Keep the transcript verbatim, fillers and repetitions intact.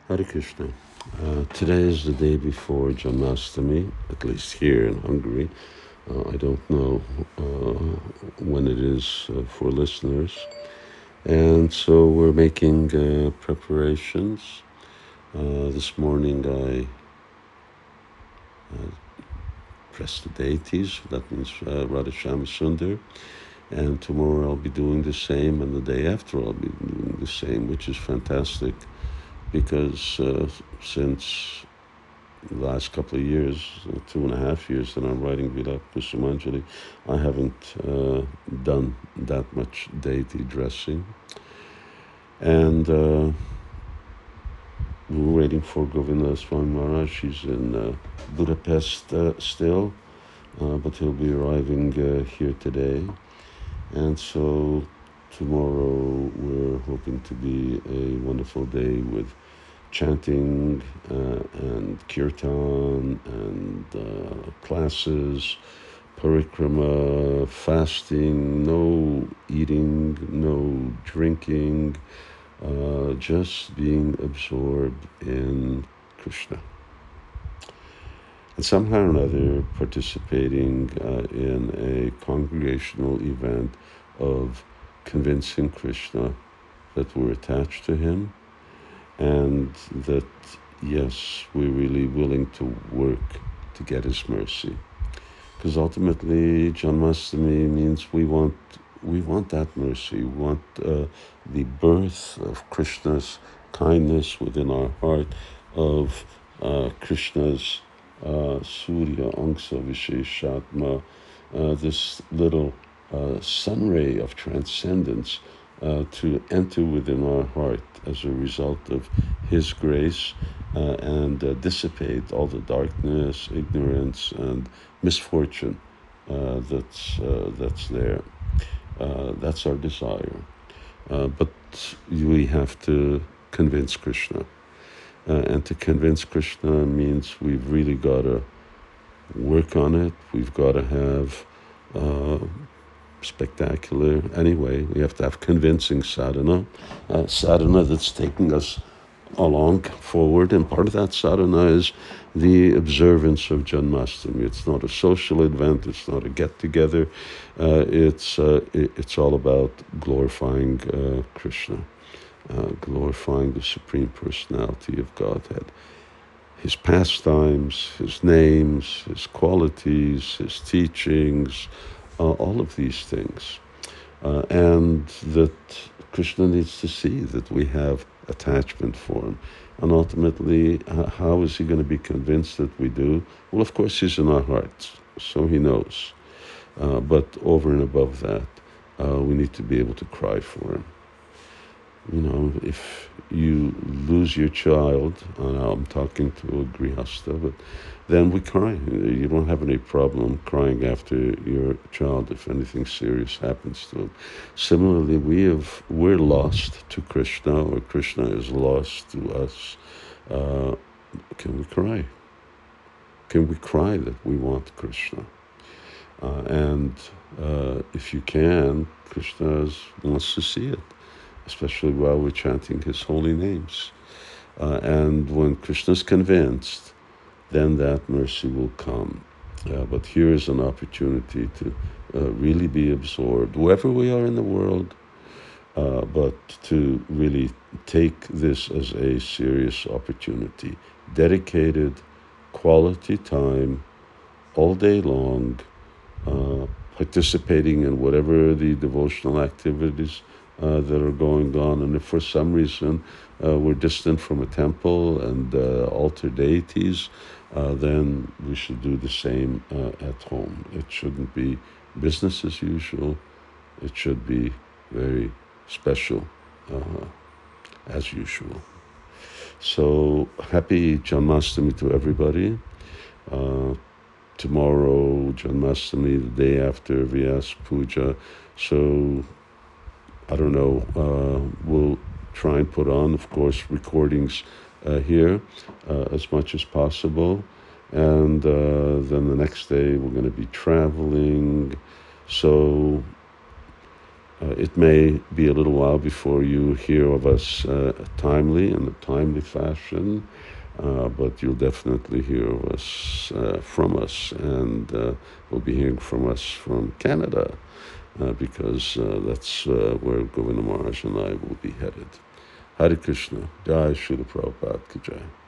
Hare Krishna. Uh, today is the day before Janmashtami, at least here in Hungary. Uh, I don't know uh, when it is uh, for listeners. And so we're making uh, preparations. Uh, this morning I uh, dressed the deities, that means uh, Radha Shama Sundar. And tomorrow I'll be doing the same, and the day after I'll be doing the same, which is fantastic because uh, since the last couple of years, uh, two and a half years that I'm writing Vilapa Kusumanjali, I haven't uh, done that much deity dressing. And uh, we're waiting for Govinda Swami Maharaj. He's in uh, Budapest uh, still, uh, but he'll be arriving uh, here today. And so tomorrow we're hoping to be a wonderful day with chanting uh, and kirtan and uh, classes, parikrama, fasting, no eating, no drinking, uh, just being absorbed in Krishna. And somehow or another participating uh, in a congregational event of convincing Krishna that we're attached to him, and that, yes, we're really willing to work to get his mercy. Because ultimately, Janmashtami means we want we want that mercy. We want uh, the birth of Krishna's kindness within our heart, of uh, Krishna's uh, Surya Angsa Visheshatma, uh, this little uh, sun ray of transcendence uh, to enter within our heart as a result of his grace uh, and uh, dissipate all the darkness, ignorance, and misfortune uh, that's uh, that's there. Uh, that's our desire. Uh, but we have to convince Krishna. Uh, and to convince Krishna means we've really got to work on it. We've got to have uh, spectacular, anyway, we have to have convincing sadhana, uh, sadhana that's taking us along forward, and part of that sadhana is the observance of Janmashtami. It's not a social event, it's not a get-together, uh, it's, uh, it, it's all about glorifying uh, Krishna, uh, glorifying the Supreme Personality of Godhead. His pastimes, his names, his qualities, his teachings, uh, all of these things. Uh, and that Krishna needs to see that we have attachment for him. And ultimately, uh, how is he going to be convinced that we do? Well, of course, he's in our hearts, so he knows. Uh, but over and above that, uh, we need to be able to cry for him. You know, if you lose your child, and I'm talking to a grihasta, but then we cry. You don't have any problem crying after your child if anything serious happens to him. Similarly, we have, we're lost to Krishna, or Krishna is lost to us. Uh, can we cry? Can we cry that we want Krishna? Uh, and uh, if you can, Krishna wants to see it, especially while we're chanting his holy names. Uh, and when Krishna's convinced, then that mercy will come. Uh, but here is an opportunity to uh, really be absorbed, wherever we are in the world, uh, but to really take this as a serious opportunity. Dedicated, quality time, all day long, uh, participating in whatever the devotional activities Uh, that are going on. And if for some reason uh, we're distant from a temple and uh, altar deities, uh, then we should do the same uh, at home. It shouldn't be business as usual. It should be very special uh, as usual. So happy Janmashtami to everybody. Uh, tomorrow, Janmashtami, the day after Vyas Puja. So I don't know, uh, we'll try and put on, of course, recordings uh, here uh, as much as possible. And uh, then the next day we're going to be traveling. So Uh, it may be a little while before you hear of us uh, timely, in a timely fashion, uh, but you'll definitely hear of us, uh, from us, and uh, we'll be hearing from us from Canada, uh, because uh, that's uh, where Govinda Maharaj and I will be headed. Hare Krishna. Jai Srila Prabhupada Ki Jai.